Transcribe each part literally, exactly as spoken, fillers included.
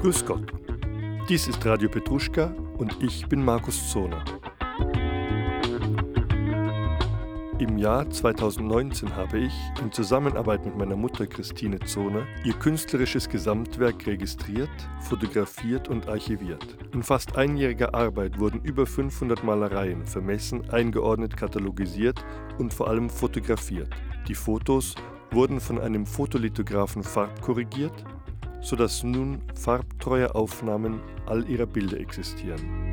Grüß Gott. Dies ist Radio Petruschka und ich bin Markus Zohner. Im Jahr zweitausendneunzehn habe ich, in Zusammenarbeit mit meiner Mutter Christine Zohner, ihr künstlerisches Gesamtwerk registriert, fotografiert und archiviert. In fast einjähriger Arbeit wurden über fünfhundert Malereien vermessen, eingeordnet, katalogisiert und vor allem fotografiert. Die Fotos wurden von einem Fotolithografen farbkorrigiert, sodass nun farbtreue Aufnahmen all ihrer Bilder existieren.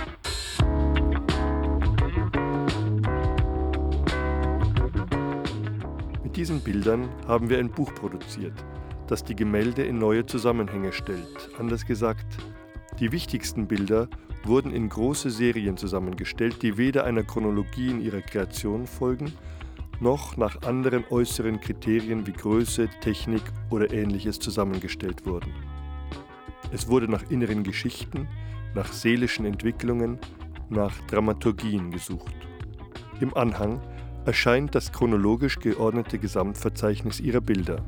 Mit diesen Bildern haben wir ein Buch produziert, das die Gemälde in neue Zusammenhänge stellt. Anders gesagt, die wichtigsten Bilder wurden in große Serien zusammengestellt, die weder einer Chronologie in ihrer Kreation folgen, noch nach anderen äußeren Kriterien wie Größe, Technik oder Ähnliches zusammengestellt wurden. Es wurde nach inneren Geschichten, nach seelischen Entwicklungen, nach Dramaturgien gesucht. Im Anhang erscheint das chronologisch geordnete Gesamtverzeichnis ihrer Bilder.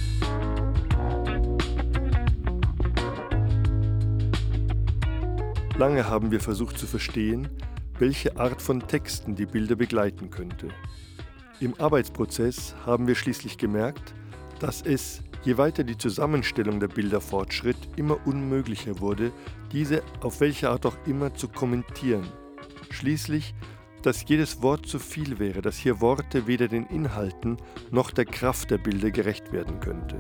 Lange haben wir versucht zu verstehen, welche Art von Texten die Bilder begleiten könnte. Im Arbeitsprozess haben wir schließlich gemerkt, dass es, je weiter die Zusammenstellung der Bilder fortschritt, immer unmöglicher wurde, diese auf welche Art auch immer zu kommentieren. Schließlich, dass jedes Wort zu viel wäre, dass hier Worte weder den Inhalten noch der Kraft der Bilder gerecht werden könnte.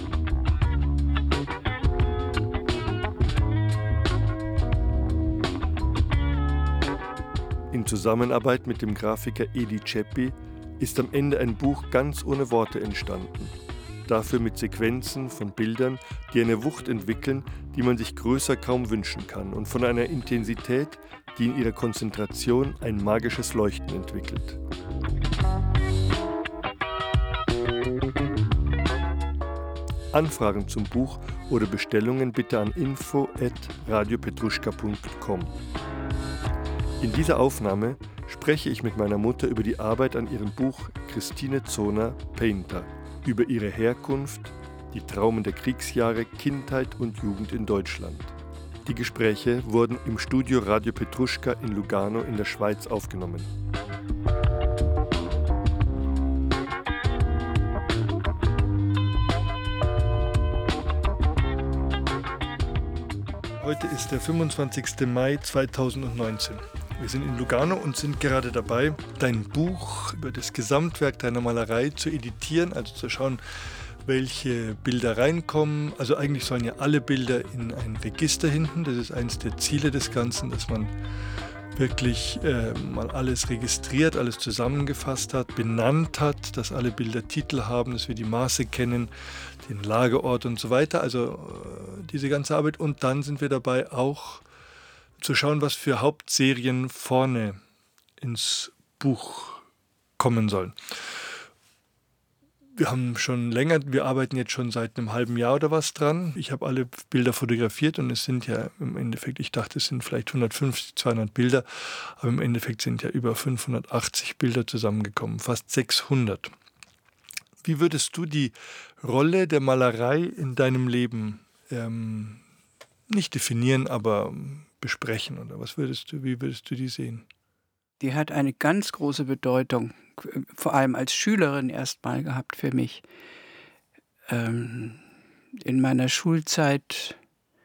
In Zusammenarbeit mit dem Grafiker Edi Ceppi ist am Ende ein Buch ganz ohne Worte entstanden. Dafür mit Sequenzen von Bildern, die eine Wucht entwickeln, die man sich größer kaum wünschen kann und von einer Intensität, die in ihrer Konzentration ein magisches Leuchten entwickelt. Anfragen zum Buch oder Bestellungen bitte an info at radiopetruschka punkt com. In dieser Aufnahme spreche ich mit meiner Mutter über die Arbeit an ihrem Buch Christine Zohner Painter, über ihre Herkunft, die Traumen der Kriegsjahre, Kindheit und Jugend in Deutschland. Die Gespräche wurden im Studio Radio Petruschka in Lugano in der Schweiz aufgenommen. Heute ist der fünfundzwanzigster Mai zweitausendneunzehn. Wir sind in Lugano und sind gerade dabei, dein Buch über das Gesamtwerk deiner Malerei zu editieren, also zu schauen, welche Bilder reinkommen. Also eigentlich sollen ja alle Bilder in ein Register hinten. Das ist eines der Ziele des Ganzen, dass man wirklich äh, mal alles registriert, alles zusammengefasst hat, benannt hat, dass alle Bilder Titel haben, dass wir die Maße kennen, den Lagerort und so weiter. Also äh, diese ganze Arbeit. Und dann sind wir dabei auch zu schauen, was für Hauptserien vorne ins Buch kommen sollen. Wir haben schon länger, wir arbeiten jetzt schon seit einem halben Jahr oder was dran. Ich habe alle Bilder fotografiert und es sind ja im Endeffekt, ich dachte, es sind vielleicht hundertfünfzig, zweihundert Bilder, aber im Endeffekt sind ja über fünfhundertachtzig Bilder zusammengekommen, fast sechshundert. Wie würdest du die Rolle der Malerei in deinem Leben ähm, nicht definieren, aber besprechen, oder was würdest du, wie würdest du die sehen? Die hat eine ganz große Bedeutung, vor allem als Schülerin erstmal gehabt für mich. Ähm, in meiner Schulzeit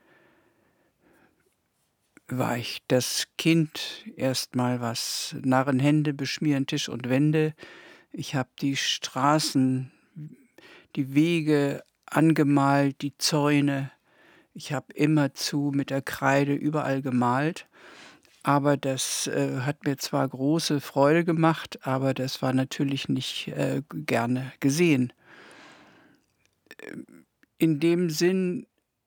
war ich das Kind erstmal, was Narrenhände beschmieren, Tisch und Wände. Ich habe die Straßen, die Wege angemalt, die Zäune. Ich habe immerzu mit der Kreide überall gemalt, aber das äh, hat mir zwar große Freude gemacht, aber das war natürlich nicht äh, gerne gesehen. In dem Sinn,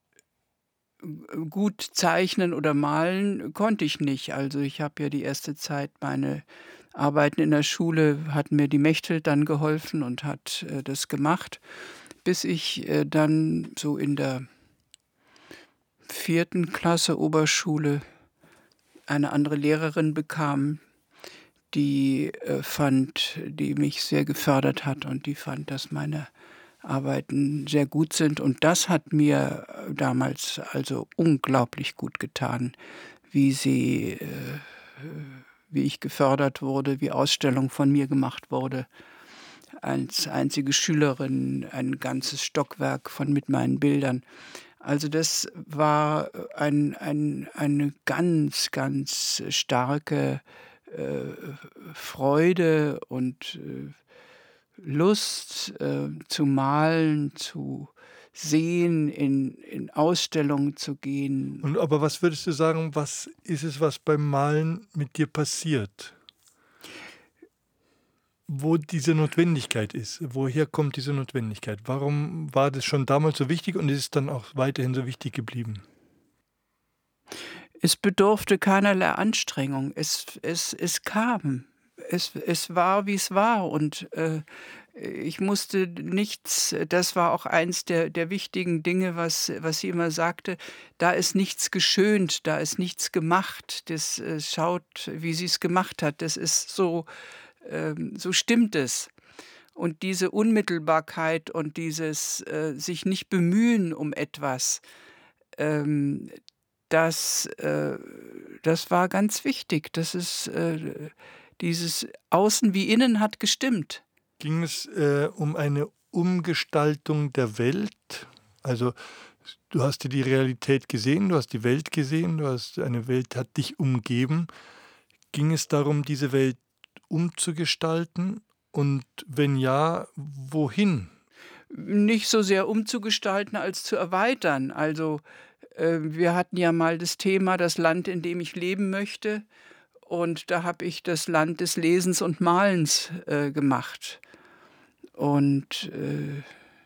gut zeichnen oder malen konnte ich nicht. Also ich habe ja die erste Zeit meine Arbeiten in der Schule, hat mir die Mechthild dann geholfen und hat äh, das gemacht, bis ich äh, dann so in der vierten Klasse Oberschule eine andere Lehrerin bekam, die äh, fand, die mich sehr gefördert hat und die fand, dass meine Arbeiten sehr gut sind. Und das hat mir damals also unglaublich gut getan, wie sie, äh, wie ich gefördert wurde, wie Ausstellung von mir gemacht wurde. Als einzige Schülerin ein ganzes Stockwerk von mit meinen Bildern. Also das war ein ein eine ganz, ganz starke, äh, Freude und, äh, Lust, äh, zu malen, zu sehen, in in Ausstellungen zu gehen. Und aber was würdest du sagen, was ist es, was beim Malen mit dir passiert? Wo diese Notwendigkeit ist? Woher kommt diese Notwendigkeit? Warum war das schon damals so wichtig und ist es dann auch weiterhin so wichtig geblieben? Es bedurfte keinerlei Anstrengung. Es es es kam. Es es war, wie es war und, äh, ich musste nichts das war auch eins der der wichtigen Dinge, was was sie immer sagte: „Da ist nichts geschönt, da ist nichts gemacht. Das, äh, schaut, wie sie es gemacht hat. Das ist so ähm, so stimmt es.“ Und diese Unmittelbarkeit und dieses, äh, sich nicht bemühen um etwas, ähm, das äh, das war ganz wichtig. Das ist, äh dieses Außen wie Innen hat gestimmt. Ging es, äh, um eine Umgestaltung der Welt? Also, du hast dir die Realität gesehen, du hast die Welt gesehen, du hast eine Welt hat dich umgeben. Ging es darum, diese Welt umzugestalten? Und wenn ja, wohin? Nicht so sehr umzugestalten als zu erweitern. Also, äh, wir hatten ja mal das Thema das Land, in dem ich leben möchte. Und da habe ich das Land des Lesens und Malens, äh, gemacht. Und, äh,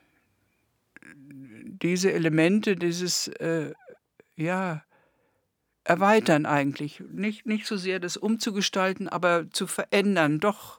diese Elemente, dieses, äh, ja, erweitern eigentlich. Nicht nicht so sehr das umzugestalten, aber zu verändern, doch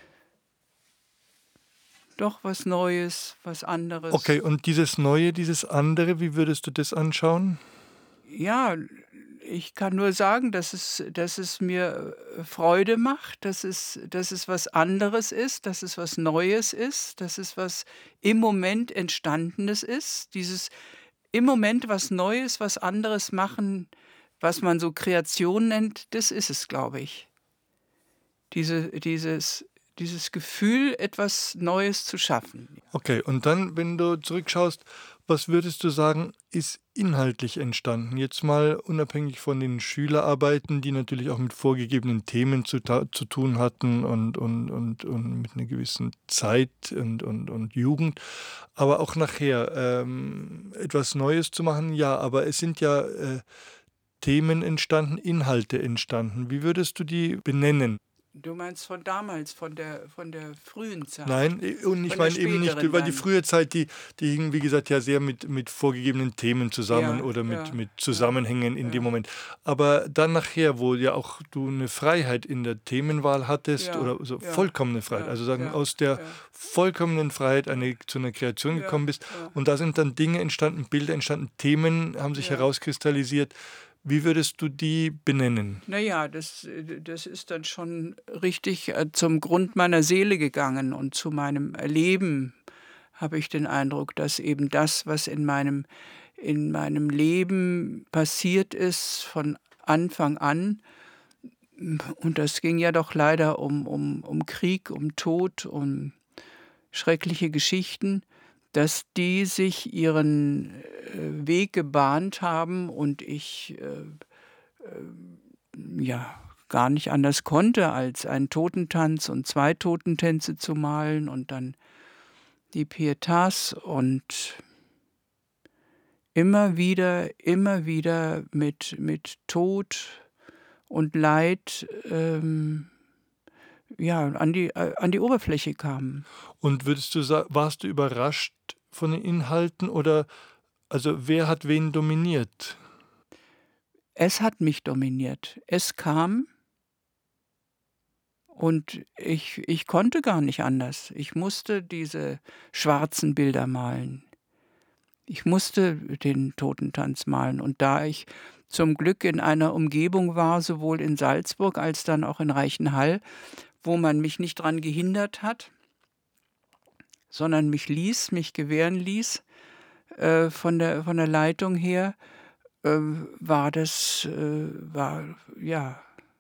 doch was Neues, was anderes. Okay, und dieses Neue, dieses andere, wie würdest du das anschauen? Ja, ich kann nur sagen, dass es dass es mir, äh, Freude macht, dass es dass es was anderes ist, dass es was Neues ist, dass es was im Moment Entstandenes ist. Dieses im Moment was Neues, was anderes machen, was man so Kreation nennt, das ist es, glaube ich. Diese dieses dieses Gefühl, etwas Neues zu schaffen. Okay, und dann, wenn du zurückschaust, was würdest du sagen, ist inhaltlich entstanden? Jetzt mal unabhängig von den Schülerarbeiten, die natürlich auch mit vorgegebenen Themen zu, ta zu tun hatten und, und, und, und mit einer gewissen Zeit und, und, und Jugend, aber auch nachher ähm, etwas Neues zu machen, ja, aber es sind ja äh, Themen entstanden, Inhalte entstanden. Wie würdest du die benennen? Du meinst von damals, von der von der frühen Zeit, Nein, äh, und ich von der meine eben nicht, späteren weil die dann? frühe Zeit, die die hing, wie gesagt, ja sehr mit mit vorgegebenen Themen zusammen Ja, oder mit ja, mit ja, Zusammenhängen in dem ja, Moment. Aber dann nachher, wo ja auch du eine Freiheit in der Themenwahl hattest ja, oder so ja, vollkommene Freiheit, ja, also sagen, ja, aus der ja, vollkommenen Freiheit ja, eine zu einer Kreation ja, gekommen bist ja, und da sind dann Dinge entstanden, Bilder entstanden, Themen haben sich ja. herauskristallisiert. Wie würdest du die benennen? Na ja, das äh, das ist dann schon richtig, äh, zum Grund meiner Seele gegangen und zu meinem Erleben habe ich den Eindruck, dass eben das, was in meinem in meinem Leben passiert ist von Anfang an, hm, und das ging ja doch leider um um um Krieg, um Tod, um schreckliche Geschichten, dass die sich ihren, äh, Weg gebahnt haben und ich, äh, ja, gar nicht anders konnte, als einen Totentanz und zwei Totentänze zu malen und dann die Pietas und immer wieder immer wieder mit mit Tod und Leid, ähm, ja, an die äh, an die Oberfläche kamen. Und würdest du sa warst du überrascht von den Inhalten oder also wer hat wen dominiert? Es hat mich dominiert. Es kam und ich ich konnte gar nicht anders. Ich musste diese schwarzen Bilder malen. Ich musste den Totentanz malen und da ich zum Glück in einer Umgebung war, sowohl in Salzburg als dann auch in Reichenhall, wo man mich nicht dran gehindert hat, sondern mich ließ, mich gewähren ließ, äh, von der von der Leitung her, äh, war das, äh, war ja,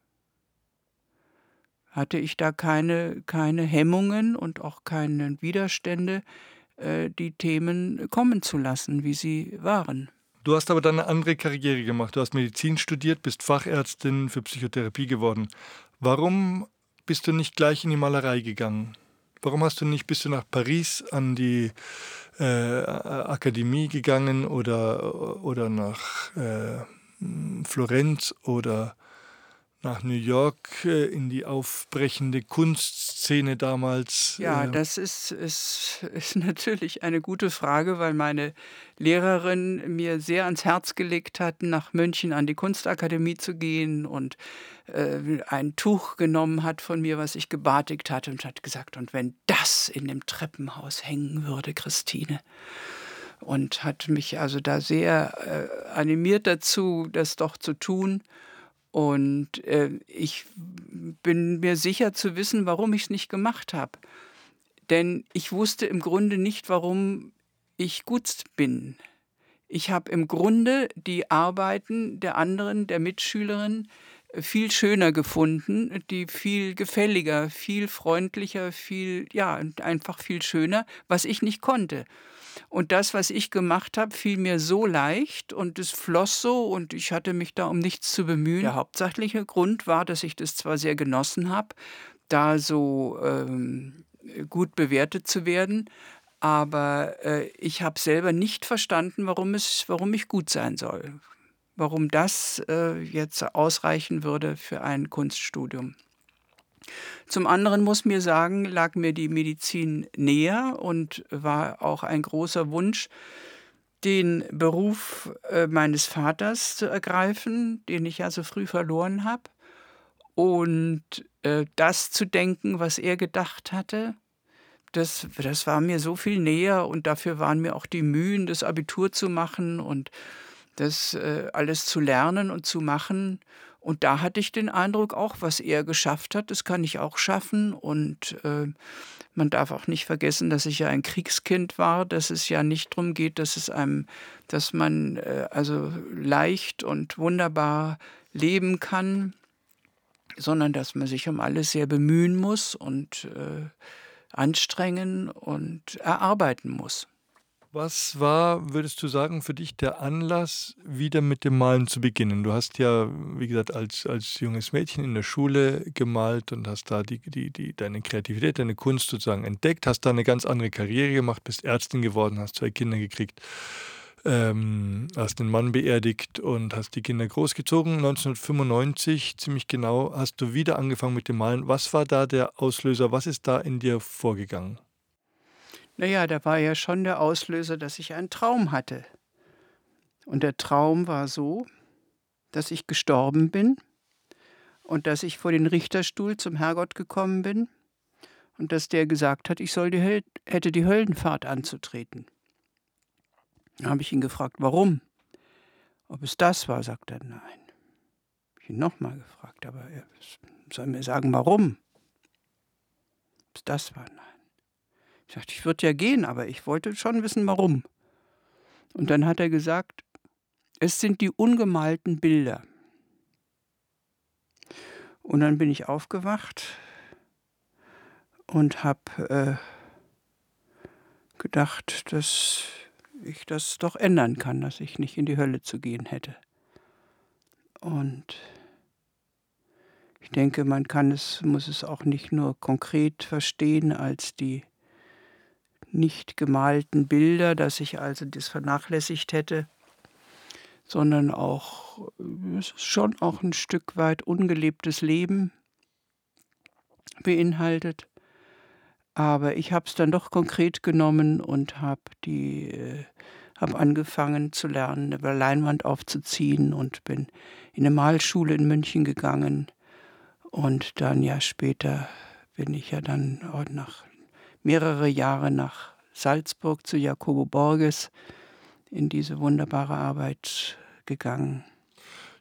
hatte ich da keine keine Hemmungen und auch keine Widerstände, äh, die Themen kommen zu lassen, wie sie waren. Du hast aber dann eine andere Karriere gemacht. Du hast Medizin studiert, bist Fachärztin für Psychotherapie geworden. Warum bist du nicht gleich in die Malerei gegangen? Warum hast du nicht bist du nach Paris an die, äh, A Akademie gegangen oder oder nach, äh, hm, Florenz oder nach New York, äh, in die aufbrechende Kunstszene damals? Ja, Äh das ist ist ist natürlich eine gute Frage, weil meine Lehrerin mir sehr ans Herz gelegt hat, nach München an die Kunstakademie zu gehen und, äh, ein Tuch genommen hat von mir, was ich gebatigt hatte und hat gesagt: „Und wenn das in dem Treppenhaus hängen würde, Christine?“ Und hat mich also da sehr, äh, animiert dazu, das doch zu tun. Und, äh, ich bin mir sicher zu wissen, warum ich es nicht gemacht habe. Denn ich wusste im Grunde nicht, warum ich gut bin. Ich habe im Grunde die Arbeiten der anderen, der Mitschülerin, äh, viel schöner gefunden, die viel gefälliger, viel freundlicher, viel ja, einfach viel schöner, was ich nicht konnte. Und das, was ich gemacht habe, fiel mir so leicht und es floss so und ich hatte mich da um nichts zu bemühen. Der hauptsächliche Grund war, dass ich das zwar sehr genossen habe, da so, ähm, gut bewertet zu werden, aber, äh, ich habe selber nicht verstanden, warum es warum ich gut sein soll. Warum das, äh, jetzt ausreichen würde für ein Kunststudium. Zum anderen muss mir sagen, lag mir die Medizin näher und war auch ein großer Wunsch, den Beruf, äh, meines Vaters zu ergreifen, den ich ja so früh verloren habe. Und, äh, das zu denken, was er gedacht hatte, das das war mir so viel näher und dafür waren mir auch die Mühen, das Abitur zu machen und das, äh, alles zu lernen und zu machen. Und da hatte ich den Eindruck auch, was er geschafft hat, das kann ich auch schaffen. Und, äh, man darf auch nicht vergessen, dass ich ja ein Kriegskind war, dass es ja nicht drum geht, dass es einem dass man, äh, also leicht und wunderbar leben kann, sondern dass man sich um alles sehr bemühen muss und, äh, anstrengen und erarbeiten muss. Was war, würdest du sagen, für dich der Anlass, wieder mit dem Malen zu beginnen? Du hast ja, wie gesagt, als als junges Mädchen in der Schule gemalt und hast da die die die deine Kreativität, deine Kunst sozusagen entdeckt, hast da eine ganz andere Karriere gemacht, bist Ärztin geworden, hast zwei Kinder gekriegt, ähm, hast 'nen Mann beerdigt und hast die Kinder großgezogen. neunzehnhundertfünfundneunzig, ziemlich genau, hast du wieder angefangen mit dem Malen. Was war da der Auslöser? Was ist da in dir vorgegangen? Na ja, da war ja schon der Auslöser, dass ich einen Traum hatte. Und der Traum war so, dass ich gestorben bin und dass ich vor den Richterstuhl zum Herrgott gekommen bin und dass der gesagt hat, ich soll die Höl hätte die Höllenfahrt anzutreten. Da habe ich ihn gefragt: „Warum?“ Ob es das war, sagt er: „Nein.“ Habe ich ihn noch mal gefragt: „Aber er soll mir sagen, warum?“ Ob's das war? Nein. Ich sagte: „Ich würde ja gehen, aber ich wollte schon wissen, warum.“ Und dann hat er gesagt: „Es sind die ungemalten Bilder.“ Und dann bin ich aufgewacht und habe, äh, gedacht, dass ich das doch ändern kann, dass ich nicht in die Hölle zu gehen hätte. Und ich denke, man kann es muss es auch nicht nur konkret verstehen als die nicht gemalten Bilder, dass ich also das vernachlässigt hätte, sondern auch äh, es ist schon auch ein Stück weit ungelebtes Leben beinhaltet. Aber ich habe es dann doch konkret genommen und habe die äh, habe angefangen zu lernen, über Leinwand aufzuziehen und bin in 'ne Malschule in München gegangen. Und dann ja später bin ich ja dann auch nach mehrere Jahre nach Salzburg zu Jacobo Borges in diese wunderbare Arbeit gegangen.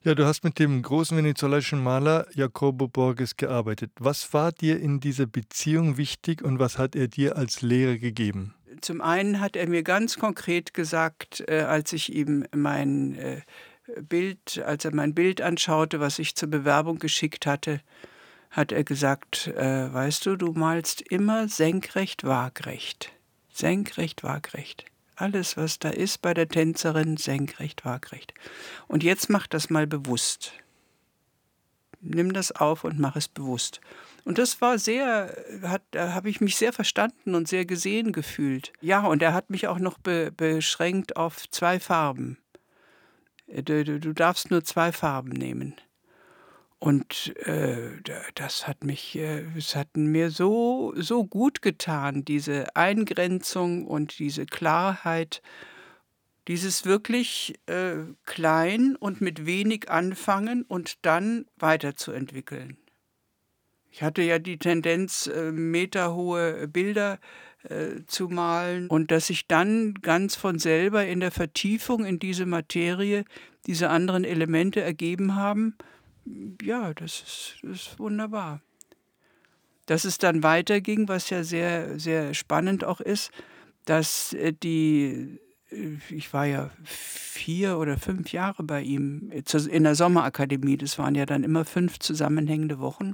Ja, du hast mit dem großen venezolanischen Maler Jacobo Borges gearbeitet. Was war dir in dieser Beziehung wichtig und was hat er dir als Lehre gegeben? Zum einen hat er mir ganz konkret gesagt, äh, als ich ihm mein äh, Bild als er mein Bild anschaute, was ich zur Bewerbung geschickt hatte, hat er gesagt: „Äh, weißt du, du malst immer senkrecht, waagrecht. Senkrecht, waagrecht. Alles, was da ist bei der Tänzerin, senkrecht, waagrecht. Und jetzt mach das mal bewusst. Nimm das auf und mach es bewusst.“ Und das war sehr hat da habe ich mich sehr verstanden und sehr gesehen gefühlt. Ja, und er hat mich auch noch be beschränkt auf zwei Farben. Äh, du du du darfst nur zwei Farben nehmen. Und, äh, da das hat mich äh, es hat mir so so gut getan, diese Eingrenzung und diese Klarheit, dieses wirklich, äh, klein und mit wenig anfangen und dann weiterzuentwickeln. Ich hatte ja die Tendenz, äh, meterhohe Bilder, äh, zu malen und dass sich dann ganz von selber in der Vertiefung in diese Materie diese anderen Elemente ergeben haben, ja, das ist das ist wunderbar. Dass es dann weiterging, was ja sehr, sehr spannend auch ist, dass, äh, die äh, ich war ja vier oder fünf Jahre bei ihm, äh, zur in der Sommerakademie. Das waren ja dann immer fünf zusammenhängende Wochen.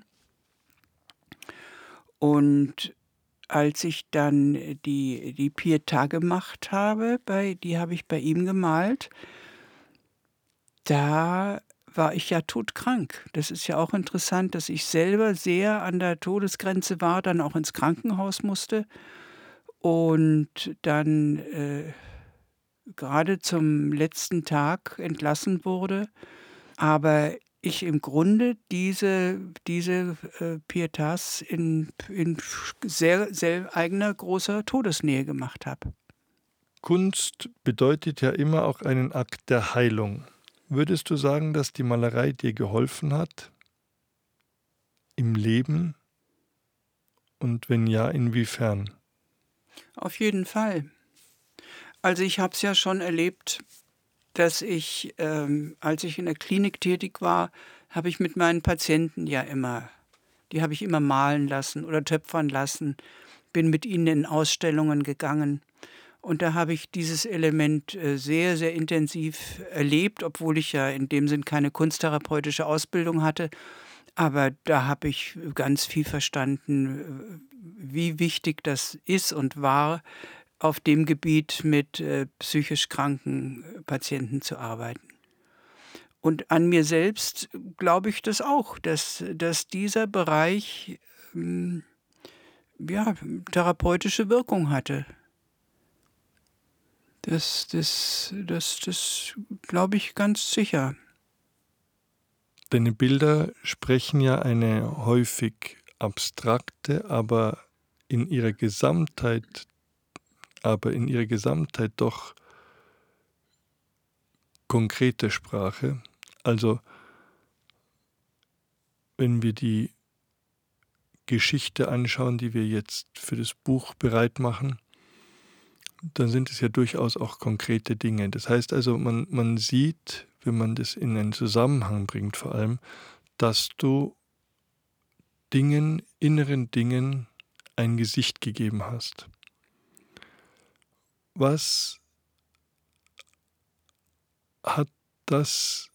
Und als ich dann äh, die die Pietà gemacht habe, bei die habe ich bei ihm gemalt, da war ich ja todkrank. Das ist ja auch interessant, dass ich selber sehr an der Todesgrenze war, dann auch ins Krankenhaus musste und dann, äh, grade zum letzten Tag entlassen wurde, aber ich im Grunde diese diese, äh, Pietàs in in sehr sehr eigener großer Todesnähe gemacht habe. Kunst bedeutet ja immer auch einen Akt der Heilung. Würdest du sagen, dass die Malerei dir geholfen hat im Leben? Und wenn ja, inwiefern? Auf jeden Fall. Also, ich habe es ja schon erlebt, dass ich, ähm, als ich in der Klinik tätig war, habe ich mit meinen Patienten ja immer die habe ich immer malen lassen oder töpfern lassen, bin mit ihnen in Ausstellungen gegangen. Und da habe ich dieses Element, äh, sehr, sehr intensiv erlebt, obwohl ich ja in dem Sinn keine kunsttherapeutische Ausbildung hatte. Aber da habe ich ganz viel verstanden, äh, wie wichtig das ist und war, auf dem Gebiet mit, äh, psychisch kranken äh, Patienten zu arbeiten. Und an mir selbst glaube ich das auch, dass dass dieser Bereich, hm, ja, therapeutische Wirkung hatte. Das das das das glaube ich ganz sicher. Deine Bilder sprechen ja eine häufig abstrakte, aber in ihrer Gesamtheit aber in ihrer Gesamtheit doch konkrete Sprache. Also wenn wir die Geschichte anschauen, die wir jetzt für das Buch bereit machen, dann sind es ja durchaus auch konkrete Dinge. Das heißt also, man man sieht, wenn man das in einen Zusammenhang bringt vor allem, dass du Dingen inneren Dingen ein Gesicht gegeben hast. Was hat das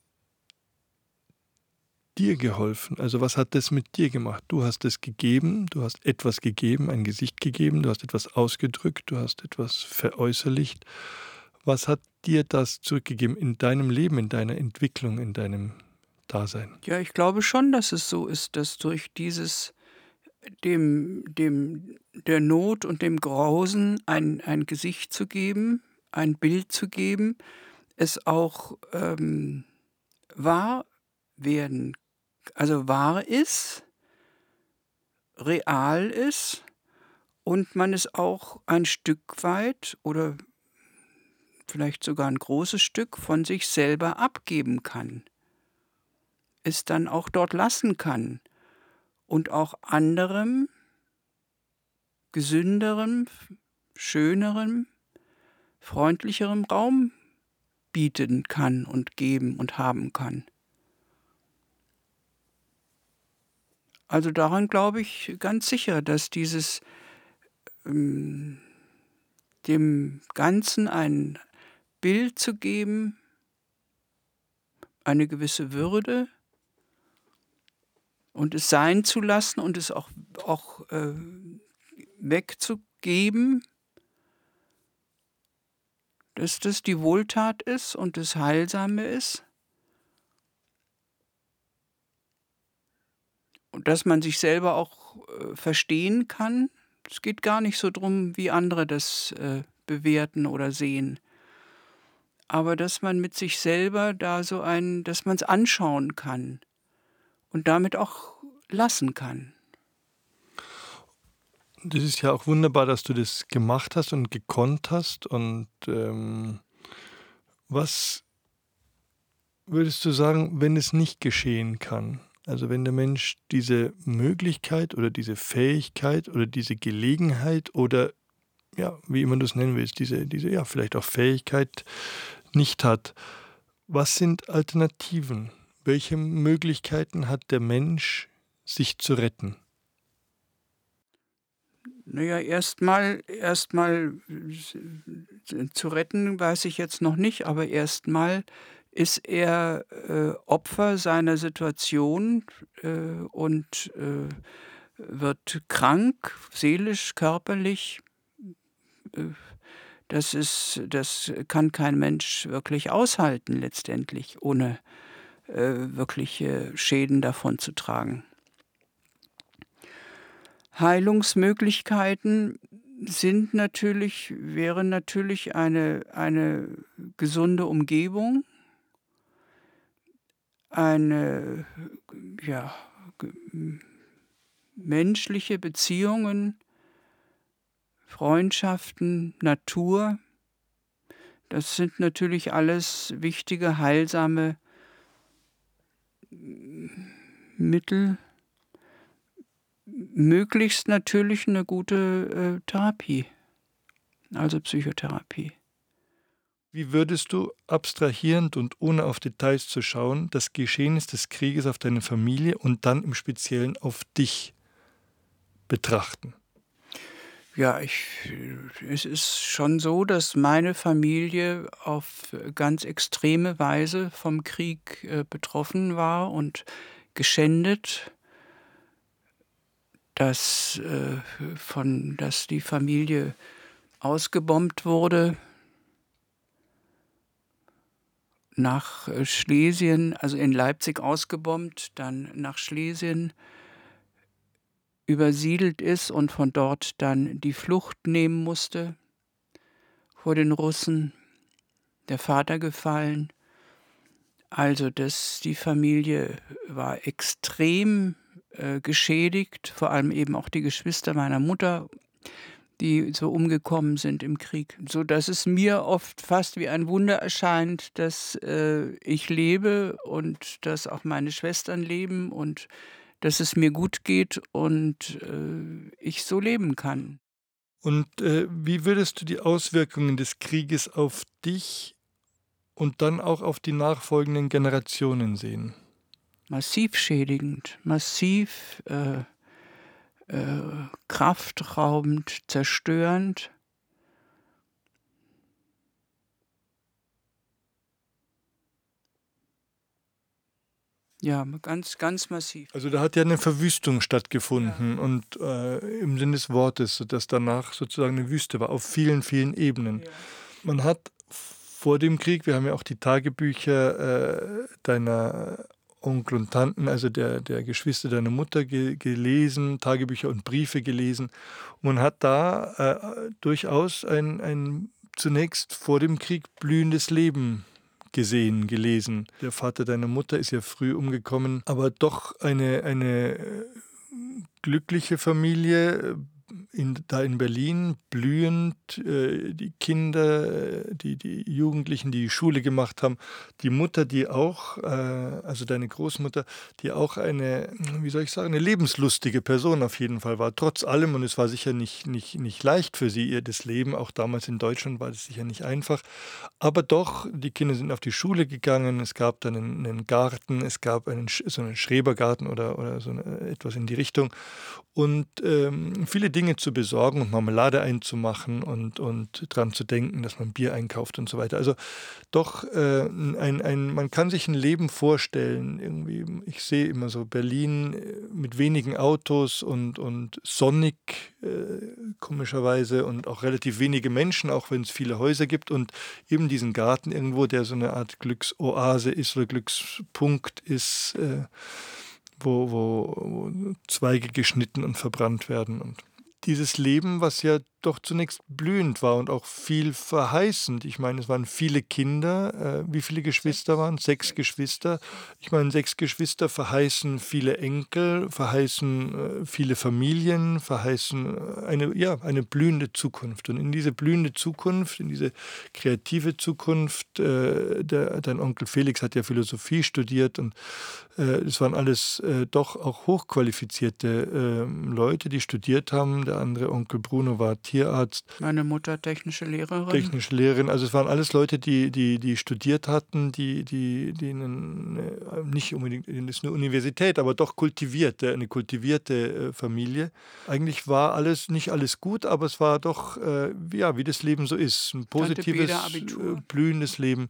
dir geholfen? Also, was hat das mit dir gemacht? Du hast es gegeben, du hast etwas gegeben, ein Gesicht gegeben, du hast etwas ausgedrückt, du hast etwas veräußerlicht. Was hat dir das zurückgegeben in deinem Leben, in deiner Entwicklung, in deinem Dasein? Ja, ich glaube schon, dass es so ist, dass durch dieses dem dem der Not und dem Grausen ein ein Gesicht zu geben, ein Bild zu geben, es auch, ähm, wahr werden also wahr ist, real ist und man es auch ein Stück weit oder vielleicht sogar ein großes Stück von sich selber abgeben kann. Es dann auch dort lassen kann und auch anderem, gesünderem, schönerem, freundlicherem Raum bieten kann und geben und haben kann. Also daran glaube ich ganz sicher, dass dieses ähm, dem Ganzen ein Bild zu geben, eine gewisse Würde und es sein zu lassen und es auch auch, äh, wegzugeben, dass das die Wohltat ist und das Heilsame ist. Und dass man sich selber auch, äh, verstehen kann. Es geht gar nicht so drum, wie andere das, äh, bewerten oder sehen. Aber dass man mit sich selber da so ein dass man's anschauen kann und damit auch lassen kann. Das ist ja auch wunderbar, dass du das gemacht hast und gekonnt hast. Und ähm, was würdest du sagen, wenn es nicht geschehen kann? Also wenn der Mensch diese Möglichkeit oder diese Fähigkeit oder diese Gelegenheit oder ja, wie immer du es nennen willst, diese, diese ja, vielleicht auch Fähigkeit nicht hat. Was sind Alternativen? Welche Möglichkeiten hat der Mensch, sich zu retten? Na ja, erstmal erstmal äh, zu retten weiß ich jetzt noch nicht, aber erstmal ist er, äh, Opfer seiner Situation, äh, und, äh, wird krank, seelisch, körperlich. Äh, das ist das kann kein Mensch wirklich aushalten letztendlich, ohne, äh, wirkliche Schäden davonzutragen. Heilungsmöglichkeiten sind natürlich wären natürlich eine eine gesunde Umgebung, eine, ja, ge m menschliche Beziehungen, Freundschaften, Natur. Das sind natürlich alles wichtige, heilsame Mittel. Möglichst natürlich eine gute, äh, Therapie, also Psychotherapie. Wie würdest du, abstrahierend und ohne auf Details zu schauen, das Geschehnis des Krieges auf deine Familie und dann im Speziellen auf dich betrachten? Ja, ich es ist schon so, dass meine Familie auf ganz extreme Weise vom Krieg, äh, betroffen war und geschändet. Dass, äh, von dass die Familie ausgebombt wurde nach, äh, Schlesien, also in Leipzig ausgebombt, dann nach Schlesien übersiedelt ist und von dort dann die Flucht nehmen musste vor den Russen, der Vater gefallen. Also, das die Familie war extrem, äh, geschädigt, vor allem eben auch die Geschwister meiner Mutter, die so umgekommen sind im Krieg, sodass es mir oft fast wie ein Wunder erscheint, dass, äh, ich lebe und dass auch meine Schwestern leben und dass es mir gut geht und, äh, ich so leben kann. Und äh, wie würdest du die Auswirkungen des Krieges auf dich und dann auch auf die nachfolgenden Generationen sehen? Massiv schädigend, massiv, äh, äh, kraftraubend, zerstörend. Ja, ganz, ganz massiv. Also da hat ja eine Verwüstung Ja. stattgefunden und äh, im Sinne des Wortes, sodass danach sozusagen eine Wüste war, auf vielen, vielen Ebenen. Ja. Man hat vor dem Krieg, wir haben ja auch die Tagebücher äh, deiner Onkel und Tanten, also der, der Geschwister deiner Mutter ge gelesen, Tagebücher und Briefe gelesen. Und man hat da äh, durchaus ein, ein zunächst vor dem Krieg blühendes Leben gesehen, gelesen. Der Vater deiner Mutter ist ja früh umgekommen, aber doch eine, eine äh, glückliche Familie, äh, in, da in Berlin blühend, äh, die Kinder, äh, die, die Jugendlichen, die die Schule gemacht haben, die Mutter, die auch, äh, also deine Großmutter, die auch eine, wie soll ich sagen, eine lebenslustige Person auf jeden Fall war, trotz allem. Und es war sicher nicht, nicht, nicht leicht für sie, ihr das Leben. Auch damals in Deutschland war das sicher nicht einfach. Aber doch, die Kinder sind auf die Schule gegangen, es gab dann einen, einen Garten, es gab einen, Sch- so einen Schrebergarten oder, oder so eine, etwas in die Richtung. Und ähm, viele Dinge zu besorgen und Marmelade einzumachen und, und dran zu denken, dass man Bier einkauft und so weiter. Also doch, äh, ein, ein, man kann sich ein Leben vorstellen. Irgendwie, ich sehe immer so Berlin äh, mit wenigen Autos und, und sonnig, äh, komischerweise, und auch relativ wenige Menschen, auch wenn es viele Häuser gibt. Und eben diesen Garten irgendwo, der so eine Art Glücksoase ist oder Glückspunkt ist, äh, wo, wo, wo Zweige geschnitten und verbrannt werden. Und dieses Leben, was ja doch zunächst blühend war und auch viel verheißend. Ich meine, es waren viele Kinder. Äh, wie viele Geschwister waren es? Sechs Geschwister. Ich meine, sechs Geschwister verheißen viele Enkel, verheißen äh, viele Familien, verheißen äh, eine, ja, eine blühende Zukunft. Und in diese blühende Zukunft, in diese kreative Zukunft, äh, der, dein Onkel Felix hat ja Philosophie studiert und äh, es waren alles äh, doch auch hochqualifizierte äh, Leute, die studiert haben. Der andere Onkel Bruno war Tierarzt, Meine Mutter technische Lehrerin. technische Lehrerin. Also es waren alles Leute, die, die, die studiert hatten, die, die, die einen, äh, nicht unbedingt, das ist eine Universität, aber doch kultivierte, eine kultivierte äh, Familie. Eigentlich war alles, nicht alles gut, aber es war doch, äh, ja, wie das Leben so ist, ein positives, Beda Abitur. äh, blühendes Leben.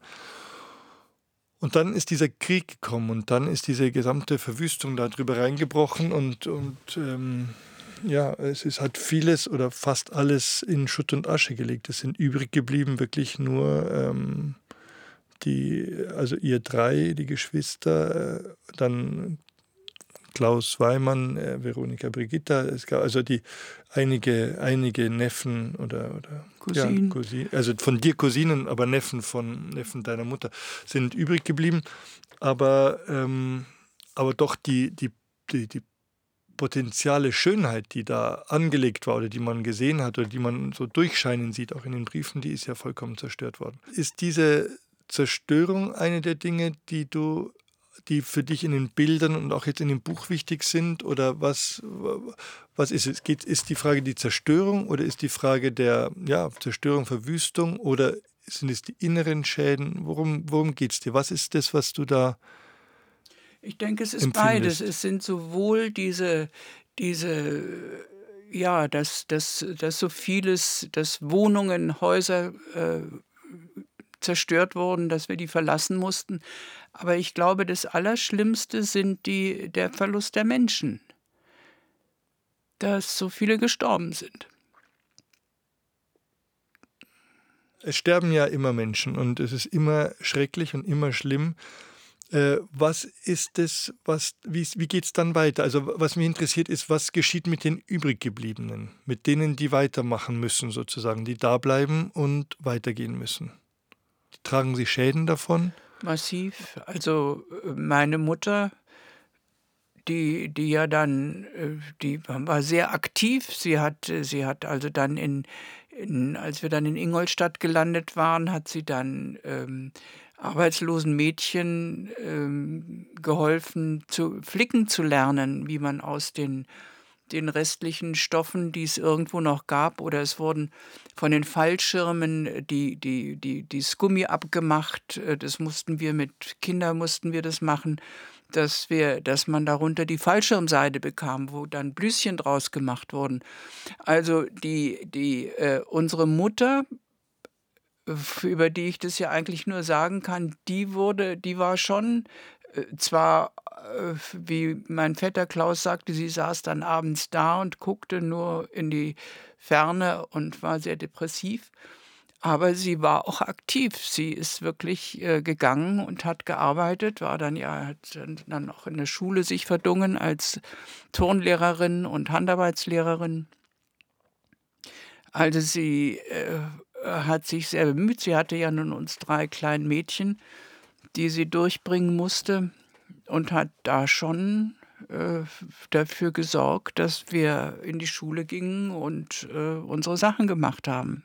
Und dann ist dieser Krieg gekommen und dann ist diese gesamte Verwüstung da drüber reingebrochen und, und ähm, ja, es ist, hat vieles oder fast alles in Schutt und Asche gelegt. Es sind übrig geblieben wirklich nur ähm, die, also ihr drei, die Geschwister, äh, dann Klaus Weimann, äh, Veronika Brigitta, es gab also die einige, einige Neffen oder, oder Cousinen. Ja, Cousin, also von dir Cousinen, aber Neffen von Neffen deiner Mutter sind übrig geblieben. Aber, ähm, aber doch die, die, die, die potenziale Schönheit, die da angelegt war oder die man gesehen hat oder die man so durchscheinen sieht, auch in den Briefen, die ist ja vollkommen zerstört worden. Ist diese Zerstörung eine der Dinge, die du, die für dich in den Bildern und auch jetzt in dem Buch wichtig sind? Oder was, was ist es? Geht, ist die Frage die Zerstörung oder ist die Frage der ja, Zerstörung, Verwüstung oder sind es die inneren Schäden? Worum, worum geht es dir? Was ist das, was du da Ich denke, es ist empfindest? beides. Es sind sowohl diese, diese ja, dass, dass, dass so vieles, dass Wohnungen, Häuser äh, zerstört wurden, dass wir die verlassen mussten. Aber ich glaube, das Allerschlimmste sind die, der Verlust der Menschen, dass so viele gestorben sind. Es sterben ja immer Menschen und es ist immer schrecklich und immer schlimm. Äh, was ist es, was, wie, wie geht es dann weiter? Also was mich interessiert ist, was geschieht mit den übriggebliebenen, mit denen, die weitermachen müssen sozusagen, die da bleiben und weitergehen müssen? Tragen sie Schäden davon? Massiv. Also äh, meine Mutter, die, die ja dann, äh, die war sehr aktiv. Sie hat, äh, sie hat also dann in, in, als wir dann in Ingolstadt gelandet waren, hat sie dann ähm, arbeitslosen Mädchen ähm, geholfen, zu flicken zu lernen, wie man aus den den restlichen Stoffen, die es irgendwo noch gab, oder es wurden von den Fallschirmen die, die, die, die Gummi abgemacht. Äh, Das mussten wir mit Kindern mussten wir das machen, dass wir, dass man darunter die Fallschirmseide bekam, wo dann Blüschen draus gemacht wurden. Also die, die, äh, unsere Mutter, f- über die ich das ja eigentlich nur sagen kann, die wurde, die war schon äh, zwar, äh, wie mein Vetter Klaus sagte, sie saß dann abends da und guckte nur in die Ferne und war sehr depressiv. Aber sie war auch aktiv. Sie ist wirklich äh, gegangen und hat gearbeitet, war dann ja, hat dann dann auch in der Schule sich verdungen als Turnlehrerin und Handarbeitslehrerin. Also sie äh, hat sich sehr bemüht. Sie hatte ja nun uns drei kleine Mädchen, die sie durchbringen musste und hat da schon äh, dafür gesorgt, dass wir in die Schule gingen und äh, unsere Sachen gemacht haben.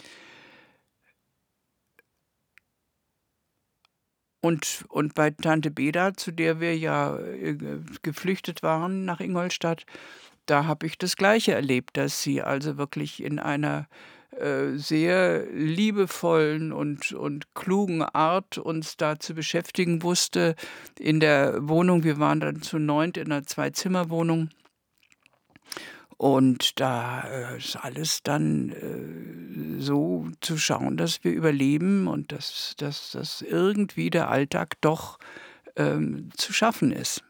Und, und bei Tante Beda, zu der wir ja äh, geflüchtet waren nach Ingolstadt, da habe ich das Gleiche erlebt, dass sie also wirklich in einer äh, sehr liebevollen und, und klugen Art uns da zu beschäftigen wusste. In der Wohnung, wir waren dann zu neunt in einer Zwei-Zimmer-Wohnung. Und da äh, ist alles dann äh, so zu schauen, dass wir überleben und dass, dass, dass irgendwie der Alltag doch ähm, zu schaffen ist.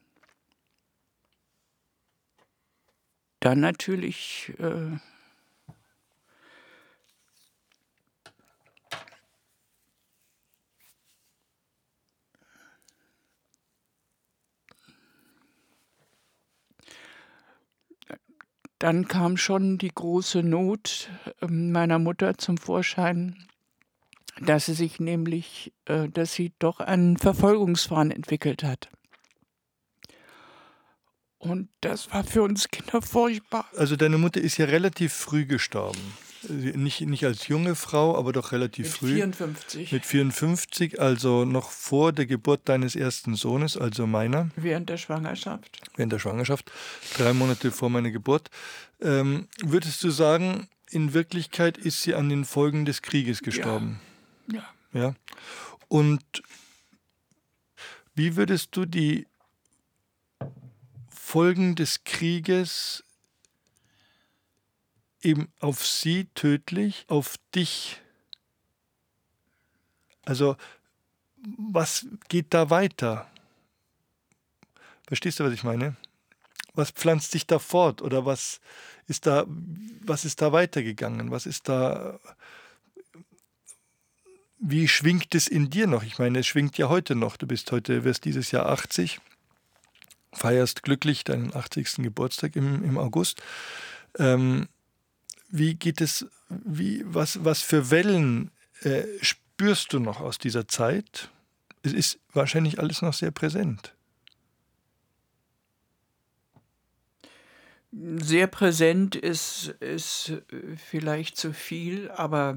Dann natürlich äh, dann kam schon die große Not ähm, meiner Mutter zum Vorschein, dass sie sich nämlich, äh, dass sie doch einen Verfolgungswahn entwickelt hat. Und das war für uns Kinder furchtbar. Also deine Mutter ist ja relativ früh gestorben. Nicht, nicht als junge Frau, aber doch relativ Mit früh. vierundfünfzig. Mit vierundfünfzig, also noch vor der Geburt deines ersten Sohnes, also meiner. Während der Schwangerschaft. Während der Schwangerschaft, drei Monate vor meiner Geburt. Ähm, würdest du sagen, in Wirklichkeit ist sie an den Folgen des Krieges gestorben? Ja. Ja. Und wie würdest du die Folgen des Krieges eben auf sie tödlich, auf dich? Also, was geht da weiter? Verstehst du, was ich meine? Was pflanzt sich da fort oder was ist da, was ist da weitergegangen? Was ist da, wie schwingt es in dir noch? Ich meine, es schwingt ja heute noch. Du bist heute, wirst dieses Jahr achtzig, feierst glücklich deinen achtzigsten Geburtstag im, im August. Ähm, wie geht es, wie, was, was für Wellen äh, spürst du noch aus dieser Zeit? Es ist wahrscheinlich alles noch sehr präsent. Sehr präsent ist, ist vielleicht zu viel, aber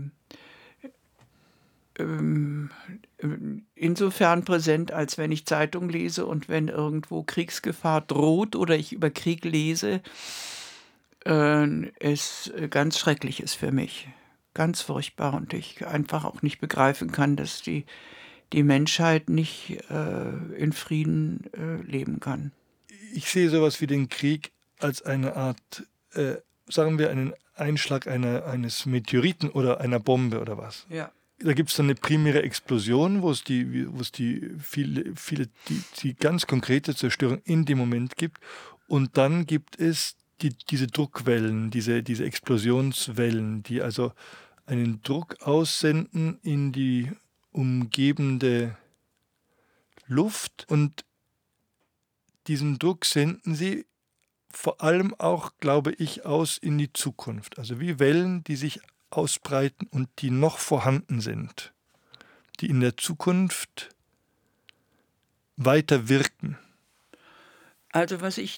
ähm, insofern präsent, als wenn ich Zeitung lese und wenn irgendwo Kriegsgefahr droht oder ich über Krieg lese, äh, es ganz schrecklich ist für mich. Ganz furchtbar und ich einfach auch nicht begreifen kann, dass die, die Menschheit nicht äh, in Frieden äh, leben kann. Ich sehe sowas wie den Krieg als eine Art, äh, sagen wir, einen Einschlag einer, eines Meteoriten oder einer Bombe oder was. Ja. Da gibt es dann eine primäre Explosion, wo es die, wo es die viele, viele, die, die ganz konkrete Zerstörung in dem Moment gibt. Und dann gibt es die, diese Druckwellen, diese, diese Explosionswellen, die also einen Druck aussenden in die umgebende Luft. Und diesen Druck senden sie vor allem auch, glaube ich, aus in die Zukunft. Also wie Wellen, die sich ausbreiten und die noch vorhanden sind, die in der Zukunft weiter wirken. Also was ich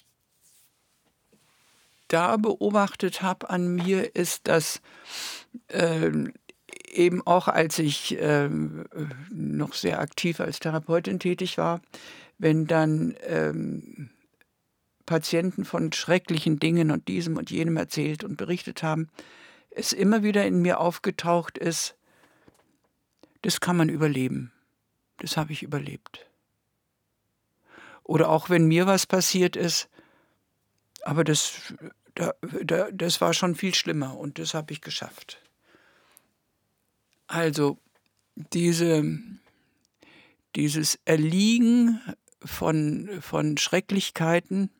da beobachtet habe an mir, ist, dass äh, eben auch als ich äh, noch sehr aktiv als Therapeutin tätig war, wenn dann ähm, Patienten von schrecklichen Dingen und diesem und jenem erzählt und berichtet haben, es immer wieder in mir aufgetaucht ist, das kann man überleben. Das habe ich überlebt. Oder auch wenn mir was passiert ist, aber das, da, da, das war schon viel schlimmer und das habe ich geschafft. Also diese, dieses Erliegen von, von Schrecklichkeiten,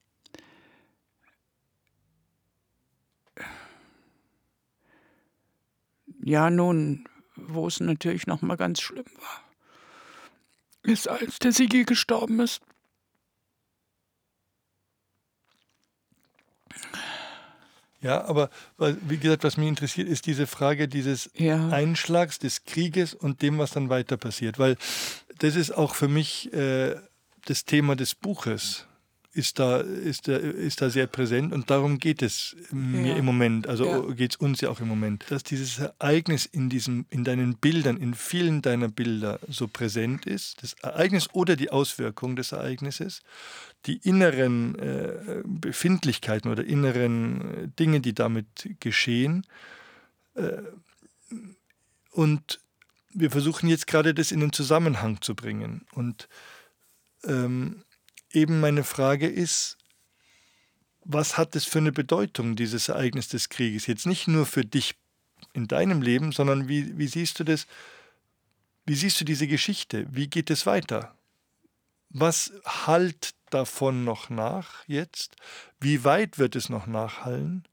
ja, nun, wo es natürlich noch mal ganz schlimm war, ist, als der Sigi gestorben ist. Ja, aber wie gesagt, was mich interessiert, ist diese Frage dieses Ja. Einschlags, des Krieges und dem, was dann weiter passiert. Weil das ist auch für mich äh, das Thema des Buches. ist da, ist, da, ist da sehr präsent und darum geht es mir Ja. im Moment, also Ja. geht es uns ja auch im Moment, dass dieses Ereignis in, diesem, in deinen Bildern, in vielen deiner Bilder so präsent ist, das Ereignis oder die Auswirkung des Ereignisses, die inneren äh, Befindlichkeiten oder inneren äh, Dinge, die damit geschehen. Äh, und wir versuchen jetzt gerade das in den Zusammenhang zu bringen. Und ähm, eben meine Frage ist, was hat es für eine Bedeutung, dieses Ereignis des Krieges? Jetzt nicht nur für dich in deinem Leben, sondern wie, wie siehst du das, wie siehst du diese Geschichte? Wie geht es weiter? Was hallt davon noch nach jetzt? Wie weit wird es noch nachhallen?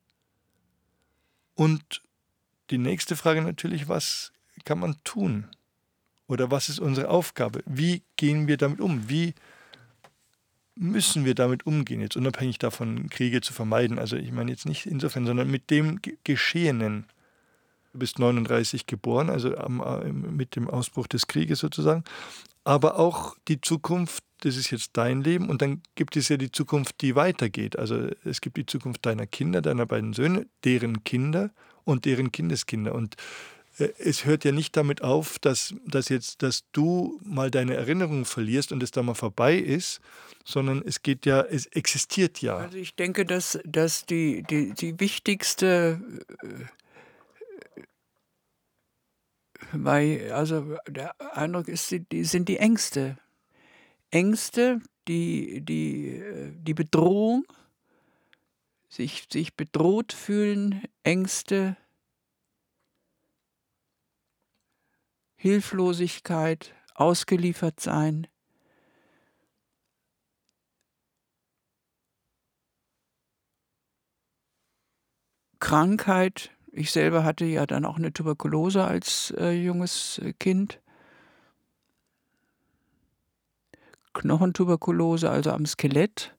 Und die nächste Frage natürlich, was kann man tun? Oder was ist unsere Aufgabe? Wie gehen wir damit um? Wie müssen wir damit umgehen, jetzt unabhängig davon, Kriege zu vermeiden? Also ich meine jetzt nicht insofern, sondern mit dem Ge- Geschehenen. Du bist neununddreißig geboren, also am, äh, mit dem Ausbruch des Krieges sozusagen. Aber auch die Zukunft, das ist jetzt dein Leben und dann gibt es ja die Zukunft, die weitergeht. Also es gibt die Zukunft deiner Kinder, deiner beiden Söhne, deren Kinder und deren Kindeskinder. Und äh, es hört ja nicht damit auf, dass, dass jetzt, dass du mal deine Erinnerungen verlierst und es da mal vorbei ist, sondern es geht ja, es existiert ja. Also ich denke, dass, dass die, die, die wichtigste, äh, weil, also der Eindruck ist, die, die sind die Ängste. Ängste, die, die, äh, die Bedrohung, sich, sich bedroht fühlen, Ängste, Hilflosigkeit, ausgeliefert sein. Krankheit. Ich selber hatte ja dann auch eine Tuberkulose als äh, junges äh, Kind. Knochentuberkulose, also am Skelett.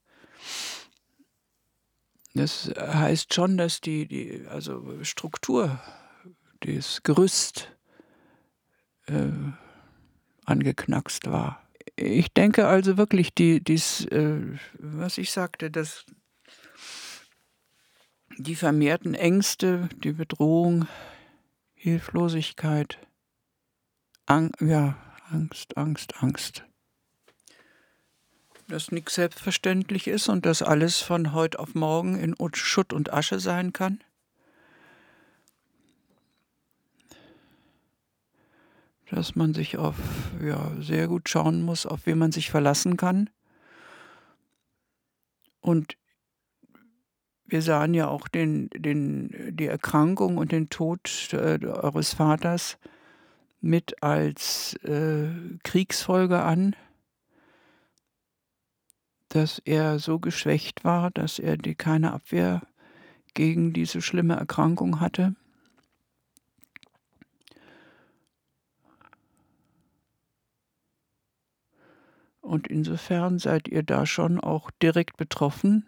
Das heißt schon, dass die, die also Struktur, das Gerüst äh, angeknackst war. Ich denke also wirklich, die, dies, äh, was ich sagte, dass die vermehrten Ängste, die Bedrohung, Hilflosigkeit, Ang ja, Angst, Angst, Angst. Dass nichts selbstverständlich ist und dass alles von heute auf morgen in Schutt und Asche sein kann. Dass man sich auf, ja, sehr gut schauen muss, auf wen man sich verlassen kann. Und wir sahen ja auch den, den, die Erkrankung und den Tod äh, eures Vaters mit als äh, Kriegsfolge an, dass er so geschwächt war, dass er die, keine Abwehr gegen diese schlimme Erkrankung hatte. Und insofern seid ihr da schon auch direkt betroffen.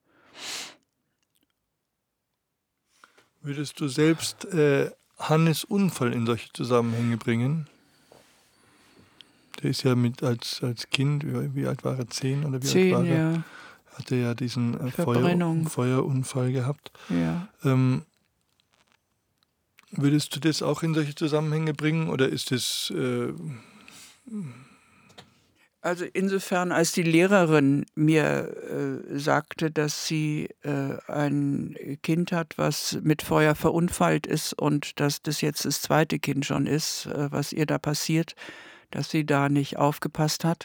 Würdest du selbst äh, Hannes Unfall in solche Zusammenhänge bringen? Der ist ja mit als, als Kind, wie, wie alt war er? Zehn oder wie Zehn, alt war er? ja. Hat er ja diesen äh, Feuer, Verbrennung. Feuerunfall gehabt. Ja. Ähm, würdest du das auch in solche Zusammenhänge bringen oder ist das... Äh, Also insofern, als die Lehrerin mir äh, sagte, dass sie äh, ein Kind hat, was mit Feuer verunfallt ist und dass das jetzt das zweite Kind schon ist, äh, was ihr da passiert, dass sie da nicht aufgepasst hat.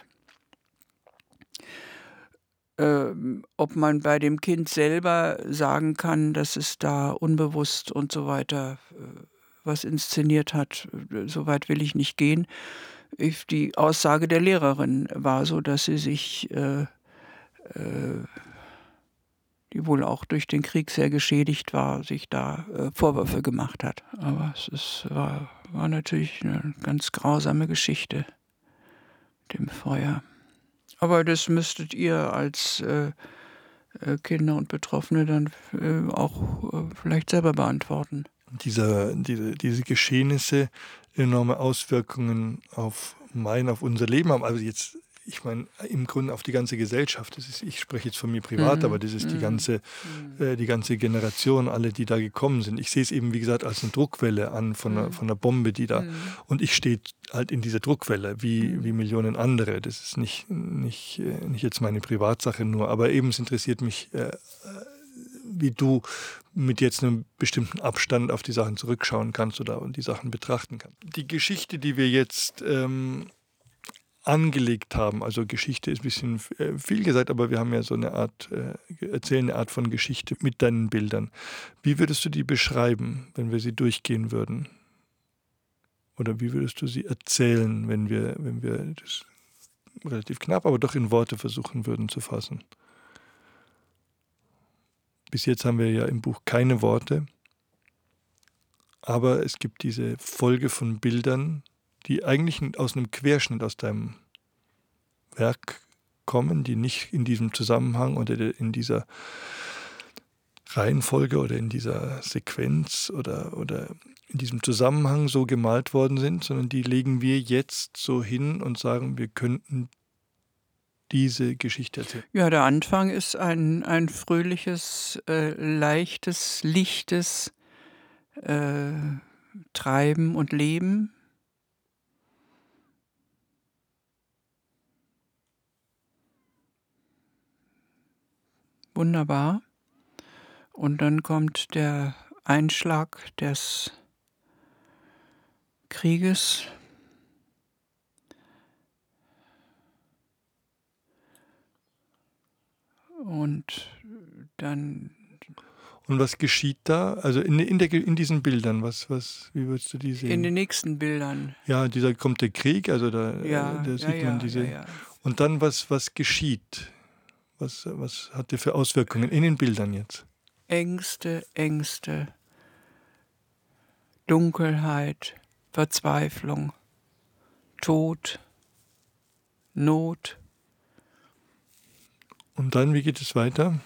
Ähm, ob man bei dem Kind selber sagen kann, dass es da unbewusst und so weiter äh, was inszeniert hat, äh, so weit will ich nicht gehen. Ich, die Aussage der Lehrerin war so, dass sie sich, äh, äh, die wohl auch durch den Krieg sehr geschädigt war, sich da äh, Vorwürfe gemacht hat. Aber es ist, war, war natürlich eine ganz grausame Geschichte mit dem Feuer. Aber das müsstet ihr als äh, äh, Kinder und Betroffene dann äh, auch äh, vielleicht selber beantworten. Dieser, diese, diese Geschehnisse enorme Auswirkungen auf mein, auf unser Leben haben. Also jetzt ich meine, im Grunde auf die ganze Gesellschaft. Das ist, ich spreche jetzt von mir privat, mhm. aber das ist die ganze, äh, die ganze Generation, alle, die da gekommen sind. Ich sehe es eben, wie gesagt, als eine Druckwelle an von, mhm. einer, von einer Bombe, die da, mhm. und ich stehe halt in dieser Druckwelle, wie, mhm. wie Millionen andere. Das ist nicht, nicht, nicht jetzt meine Privatsache nur, aber eben es interessiert mich, äh, wie du mit jetzt einem bestimmten Abstand auf die Sachen zurückschauen kannst oder und die Sachen betrachten kannst. Die Geschichte, die wir jetzt ähm, angelegt haben, also Geschichte ist ein bisschen äh, viel gesagt, aber wir haben ja so eine Art, äh, erzählende Art von Geschichte mit deinen Bildern. Wie würdest du die beschreiben, wenn wir sie durchgehen würden? Oder wie würdest du sie erzählen, wenn wir, wenn wir das relativ knapp, aber doch in Worte versuchen würden zu fassen? Bis jetzt haben wir ja im Buch keine Worte, aber es gibt diese Folge von Bildern, die eigentlich aus einem Querschnitt aus deinem Werk kommen, die nicht in diesem Zusammenhang oder in dieser Reihenfolge oder in dieser Sequenz oder, oder in diesem Zusammenhang so gemalt worden sind, sondern die legen wir jetzt so hin und sagen, wir könnten diese Geschichte erzählen. Ja, der Anfang ist ein, ein fröhliches, äh, leichtes, lichtes äh, Treiben und Leben. Wunderbar. Und dann kommt der Einschlag des Krieges. Und dann. Und was geschieht da? Also in, in, der, in diesen Bildern, was, was, wie würdest du die sehen? In den nächsten Bildern. Ja, dieser kommt der Krieg, also da, ja, da sieht ja, man ja, diese. Ja, ja. Und dann was, was geschieht? Was, was hat der für Auswirkungen in den Bildern jetzt? Ängste, Ängste, Dunkelheit, Verzweiflung, Tod, Not. Und dann, wie geht es weiter?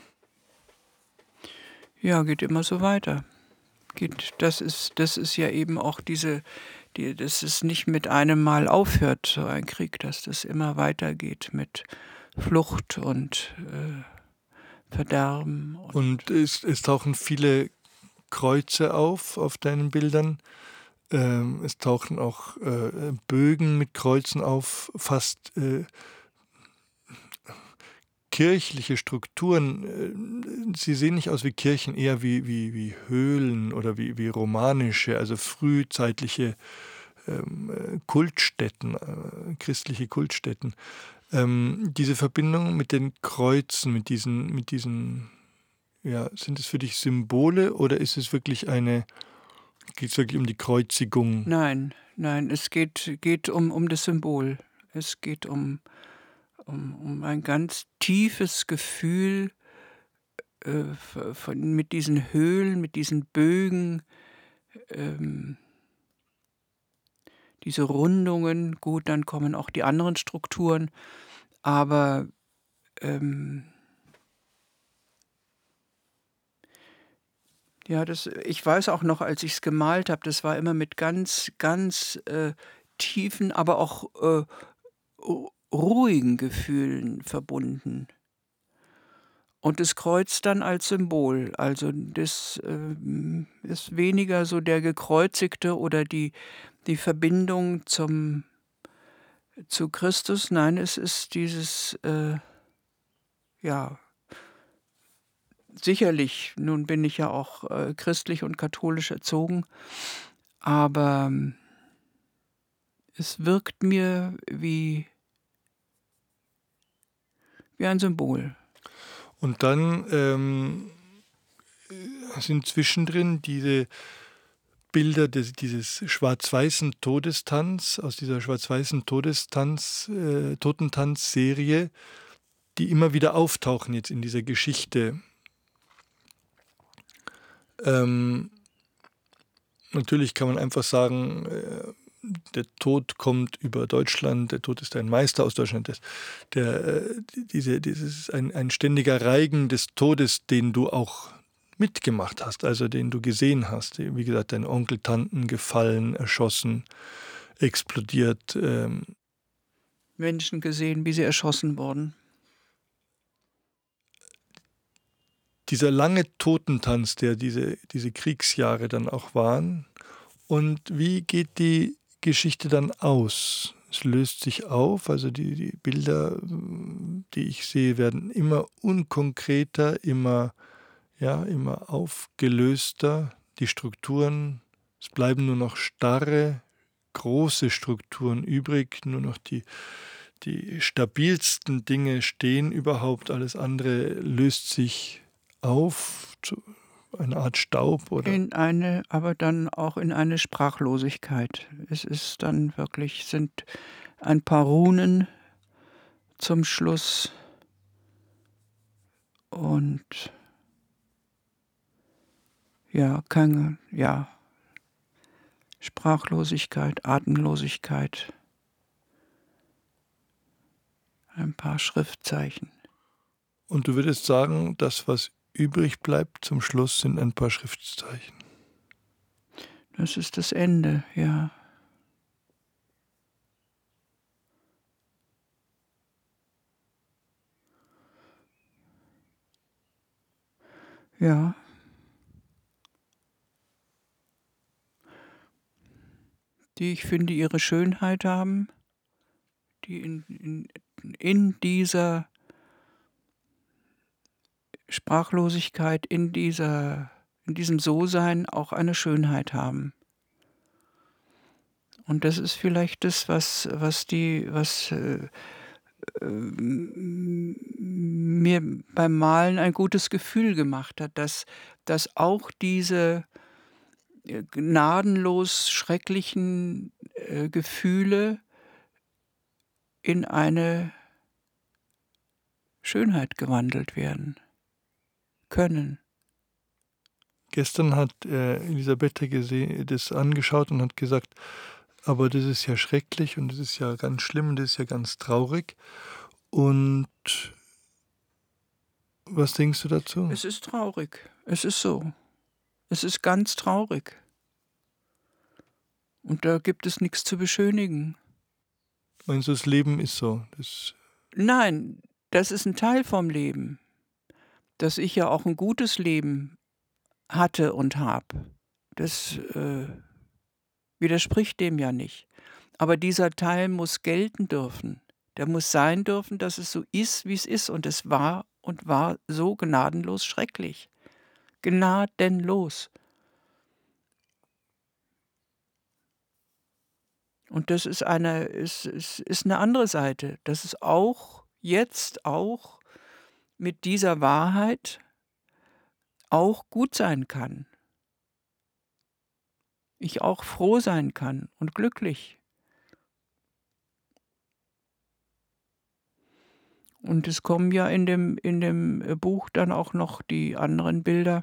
Ja, geht immer so weiter. Geht, das ist, das ist ja eben auch diese, die, dass es nicht mit einem Mal aufhört, so ein Krieg, dass das immer weitergeht mit Flucht und äh, Verderben. Und, und es, es tauchen viele Kreuze auf, auf deinen Bildern. Ähm, es tauchen auch äh, Bögen mit Kreuzen auf, fast äh, kirchliche Strukturen. Sie sehen nicht aus wie Kirchen, eher wie, wie, wie Höhlen oder wie, wie romanische, also frühzeitliche ähm, Kultstätten, äh, christliche Kultstätten. Ähm, diese Verbindung mit den Kreuzen, mit diesen, mit diesen, ja, sind es für dich Symbole oder ist es wirklich eine, geht es wirklich um die Kreuzigung? Nein, nein, es geht, geht um, um das Symbol. Es geht um, um, um ein ganz tiefes Gefühl äh, von, mit diesen Höhlen, mit diesen Bögen, ähm, diese Rundungen. Gut, dann kommen auch die anderen Strukturen, aber ähm, ja, das, ich weiß auch noch, als ich es gemalt habe, das war immer mit ganz, ganz äh, tiefen, aber auch äh, ruhigen Gefühlen verbunden. Und das Kreuz dann als Symbol. Also das äh, ist weniger so der Gekreuzigte oder die, die Verbindung zum, zu Christus. Nein, es ist dieses, äh, ja, sicherlich, nun bin ich ja auch äh, christlich und katholisch erzogen, aber es wirkt mir wie, wie ein Symbol. Und dann ähm, sind zwischendrin diese Bilder des, dieses schwarz-weißen Todestanz, aus dieser schwarz-weißen Todestanz, äh, Totentanz-Serie, die immer wieder auftauchen jetzt in dieser Geschichte. Ähm, natürlich kann man einfach sagen, äh, der Tod kommt über Deutschland, der Tod ist ein Meister aus Deutschland. Das, der, äh, diese, dieses ein, ein ständiger Reigen des Todes, den du auch mitgemacht hast, also den du gesehen hast. Wie gesagt, dein Onkel, Tanten gefallen, erschossen, explodiert. Ähm. Menschen gesehen, wie sie erschossen wurden. Dieser lange Totentanz, der diese diese Kriegsjahre dann auch waren. Und wie geht die Geschichte dann aus? Es löst sich auf, also die die Bilder, hm, die ich sehe, werden immer unkonkreter, immer ja, immer aufgelöster. Die Strukturen, es bleiben nur noch starre, große Strukturen übrig, nur noch die die stabilsten Dinge stehen überhaupt, alles andere löst sich auf zu einer Art Staub oder In eine aber dann auch in eine Sprachlosigkeit. Es ist dann wirklich sind ein paar Runen zum Schluss und ja, keine ja, Sprachlosigkeit, Atemlosigkeit, ein paar Schriftzeichen. und du würdest sagen, das, was übrig bleibt zum Schluss, sind ein paar Schriftzeichen. Das ist das Ende, ja. Ja. Die, ich finde, ihre Schönheit haben, die in in in dieser Sprachlosigkeit, in dieser in diesem So-Sein auch eine Schönheit haben. Und das ist vielleicht das, was was die was, äh, ähm, mir beim Malen ein gutes Gefühl gemacht hat, dass dass auch diese, äh, gnadenlos schrecklichen, äh, Gefühle in eine Schönheit gewandelt werden können. Gestern hat, äh, Elisabetta gese das angeschaut und hat gesagt: „Aber das ist ja schrecklich und das ist ja ganz schlimm und das ist ja ganz traurig.“ Und was denkst du dazu? Es ist traurig. Es ist so. Es ist ganz traurig. Und da gibt es nichts zu beschönigen. Meinst du, das Leben ist so? Das Nein, das ist ein Teil vom Leben, dass ich ja auch ein gutes Leben hatte und habe. Das, äh, widerspricht dem ja nicht. Aber dieser Teil muss gelten dürfen. Der muss sein dürfen, dass es so ist, wie es ist. Und es war und war so gnadenlos schrecklich. Gnadenlos. Und das ist eine ist ist ist 'ne andere Seite, dass es auch jetzt auch mit dieser Wahrheit auch gut sein kann. Ich auch froh sein kann und glücklich. Und es kommen ja in dem in dem, äh, Buch dann auch noch die anderen Bilder,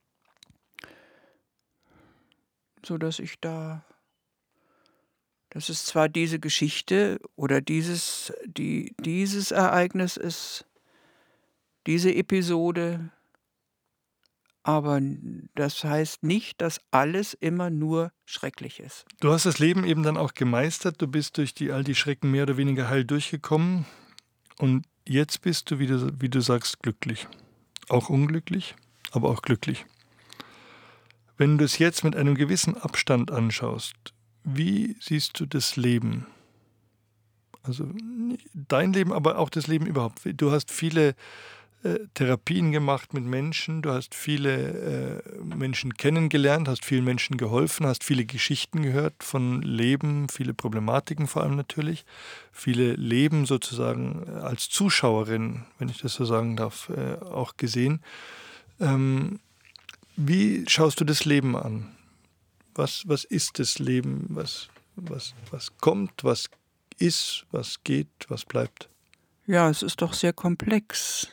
sodass ich da dass es zwar diese Geschichte oder dieses die dieses Ereignis ist, diese Episode, aber n das heißt nicht, dass alles immer nur schrecklich ist. Du hast das Leben eben dann auch gemeistert. Du bist durch die all die Schrecken mehr oder weniger heil durchgekommen und jetzt bist du, wie du wie du sagst, glücklich. Auch unglücklich, aber auch glücklich. Wenn du es jetzt mit einem gewissen Abstand anschaust, wie siehst du das Leben? Also, ni dein Leben, aber auch das Leben überhaupt. Du hast viele, äh, Therapien gemacht mit Menschen, du hast viele, äh, Menschen kennengelernt, hast vielen Menschen geholfen, hast viele Geschichten gehört von Leben, viele Problematiken vor allem natürlich, viele Leben sozusagen äh, als Zuschauerin, wenn ich das so sagen darf, äh, auch gesehen. Ähm, wie schaust du das Leben an? Was was ist das Leben? Was was was kommt, was ist, was geht, was bleibt? Ja, es ist doch sehr komplex.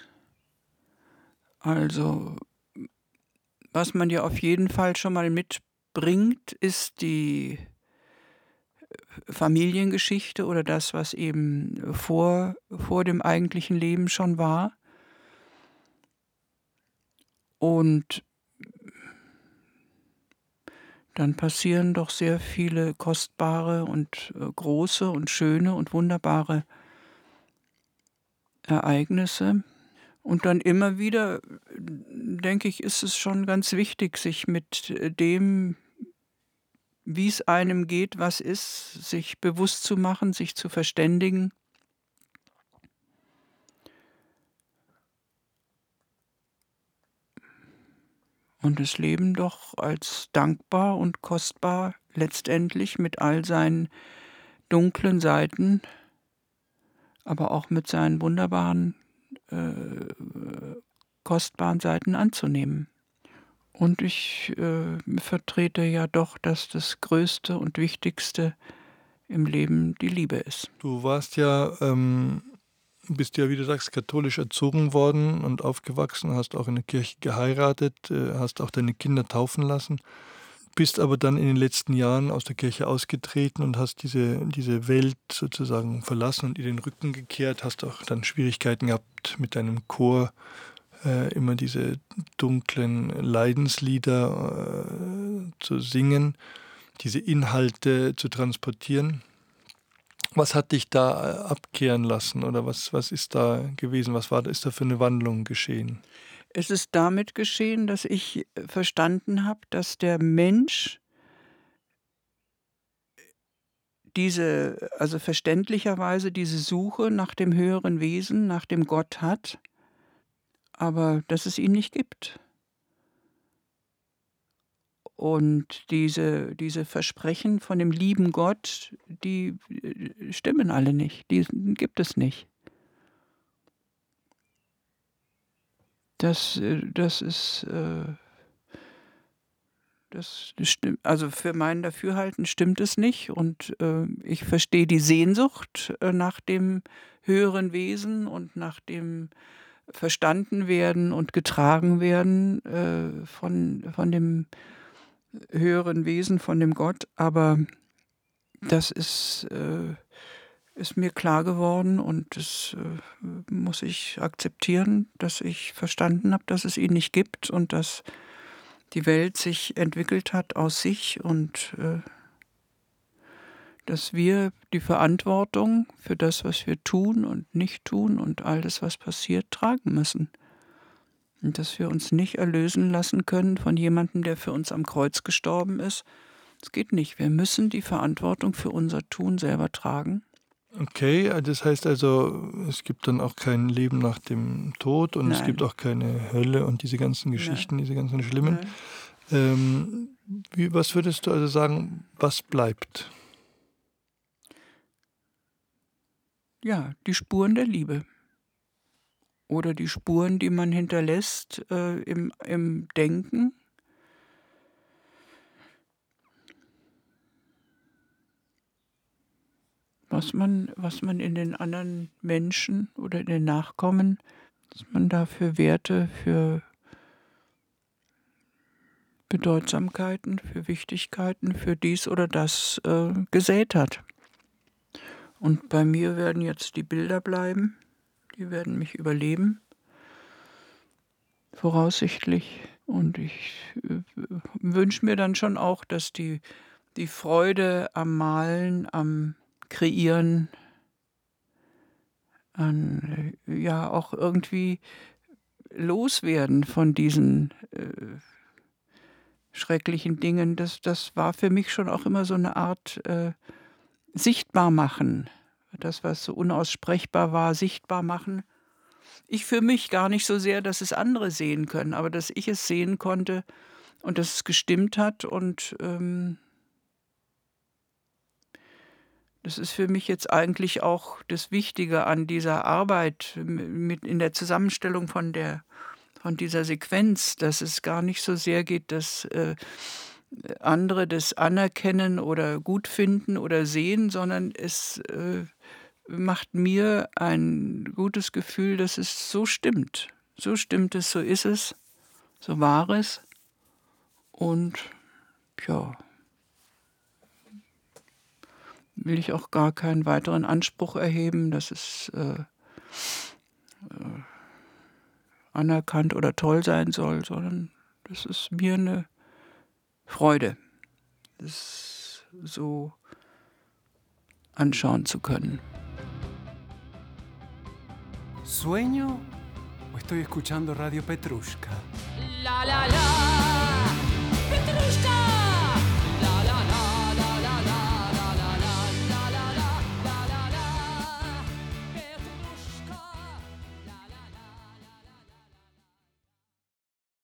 Also, was man ja auf jeden Fall schon mal mitbringt, ist die Familiengeschichte oder das, was eben vor vor dem eigentlichen Leben schon war. Und dann passieren doch sehr viele kostbare und, äh, große und schöne und wunderbare Ereignisse. Und dann immer wieder, denke ich, ist es schon ganz wichtig, sich mit dem, wie es einem geht, was ist, sich bewusst zu machen, sich zu verständigen. Und das Leben doch als dankbar und kostbar letztendlich mit all seinen dunklen Seiten, aber auch mit seinen wunderbaren, äh, kostbaren Seiten anzunehmen. Und ich äh, vertrete ja doch, dass das Größte und Wichtigste im Leben die Liebe ist. Du warst ja, ähm, bist ja, wie du sagst, katholisch erzogen worden und aufgewachsen, hast auch in der Kirche geheiratet, äh, hast auch deine Kinder taufen lassen, bist aber dann in den letzten Jahren aus der Kirche ausgetreten und hast diese, diese Welt sozusagen verlassen und ihr den Rücken gekehrt, hast auch dann Schwierigkeiten gehabt mit deinem Chor, äh, immer diese dunklen Leidenslieder äh, zu singen, diese Inhalte zu transportieren. Was hat dich da äh, abkehren lassen oder was, was ist da gewesen? Was war, ist da für eine Wandlung geschehen? Es ist damit geschehen, dass ich verstanden habe, dass der Mensch diese, also verständlicherweise diese Suche nach dem höheren Wesen, nach dem Gott hat, aber dass es ihn nicht gibt. Und diese, diese Versprechen von dem lieben Gott, die äh, stimmen alle nicht, die gibt es nicht. Das, äh, das ist, äh, das stimmt, also für mein Dafürhalten stimmt es nicht. Und äh, ich verstehe die Sehnsucht äh, nach dem höheren Wesen und nach dem verstanden werden und getragen werden äh, von, von dem höheren Wesen, von dem Gott. Aber das ist, äh, ist mir klar geworden und das äh, muss ich akzeptieren, dass ich verstanden habe, dass es ihn nicht gibt und dass die Welt sich entwickelt hat aus sich und äh, dass wir die Verantwortung für das, was wir tun und nicht tun und all das, was passiert, tragen müssen. Und dass wir uns nicht erlösen lassen können von jemandem, der für uns am Kreuz gestorben ist. Es geht nicht. Wir müssen die Verantwortung für unser Tun selber tragen. Okay, das heißt also, es gibt dann auch kein Leben nach dem Tod und es gibt Nein, auch keine Hölle und diese ganzen nein, Geschichten, diese ganzen schlimmen. nein. Ähm, wie, was würdest du also sagen, was bleibt? Ja, die Spuren der Liebe. Oder die Spuren, die man hinterlässt äh, im, im Denken. Was man, was man in den anderen Menschen oder in den Nachkommen, was man da für Werte, für Bedeutsamkeiten, für Wichtigkeiten, für dies oder das äh, gesät hat. Und bei mir werden jetzt die Bilder bleiben, die werden mich überleben, voraussichtlich. Und ich äh, wünsche mir dann schon auch, dass die, die Freude am Malen, am Kreieren, an, äh, ja, auch irgendwie loswerden von diesen äh, schrecklichen Dingen. Das, das war für mich schon auch immer so eine Art äh, sichtbar machen. Das, was so unaussprechbar war, sichtbar machen. Ich für mich gar nicht so sehr, dass es andere sehen können, aber dass ich es sehen konnte und dass es gestimmt hat. Und ähm, das ist für mich jetzt eigentlich auch das Wichtige an dieser Arbeit mit in der Zusammenstellung von der von dieser Sequenz, dass es gar nicht so sehr geht, dass äh, andere das anerkennen oder gut finden oder sehen, sondern es äh, macht mir ein gutes Gefühl, dass es so stimmt. So stimmt es, so ist es, so war es. Und ja, will ich auch gar keinen weiteren Anspruch erheben, dass es äh, anerkannt oder toll sein soll, sondern das ist mir eine Freude, das so anschauen zu können. ¿Sueño o estoy escuchando Radio Petrushka? La la la.